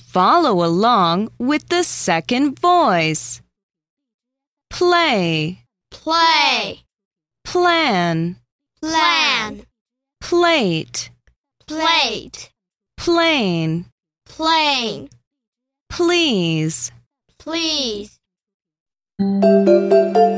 Follow along with the second voice. Play, play, plan, plan, plate, plate, plane, plane, please. please.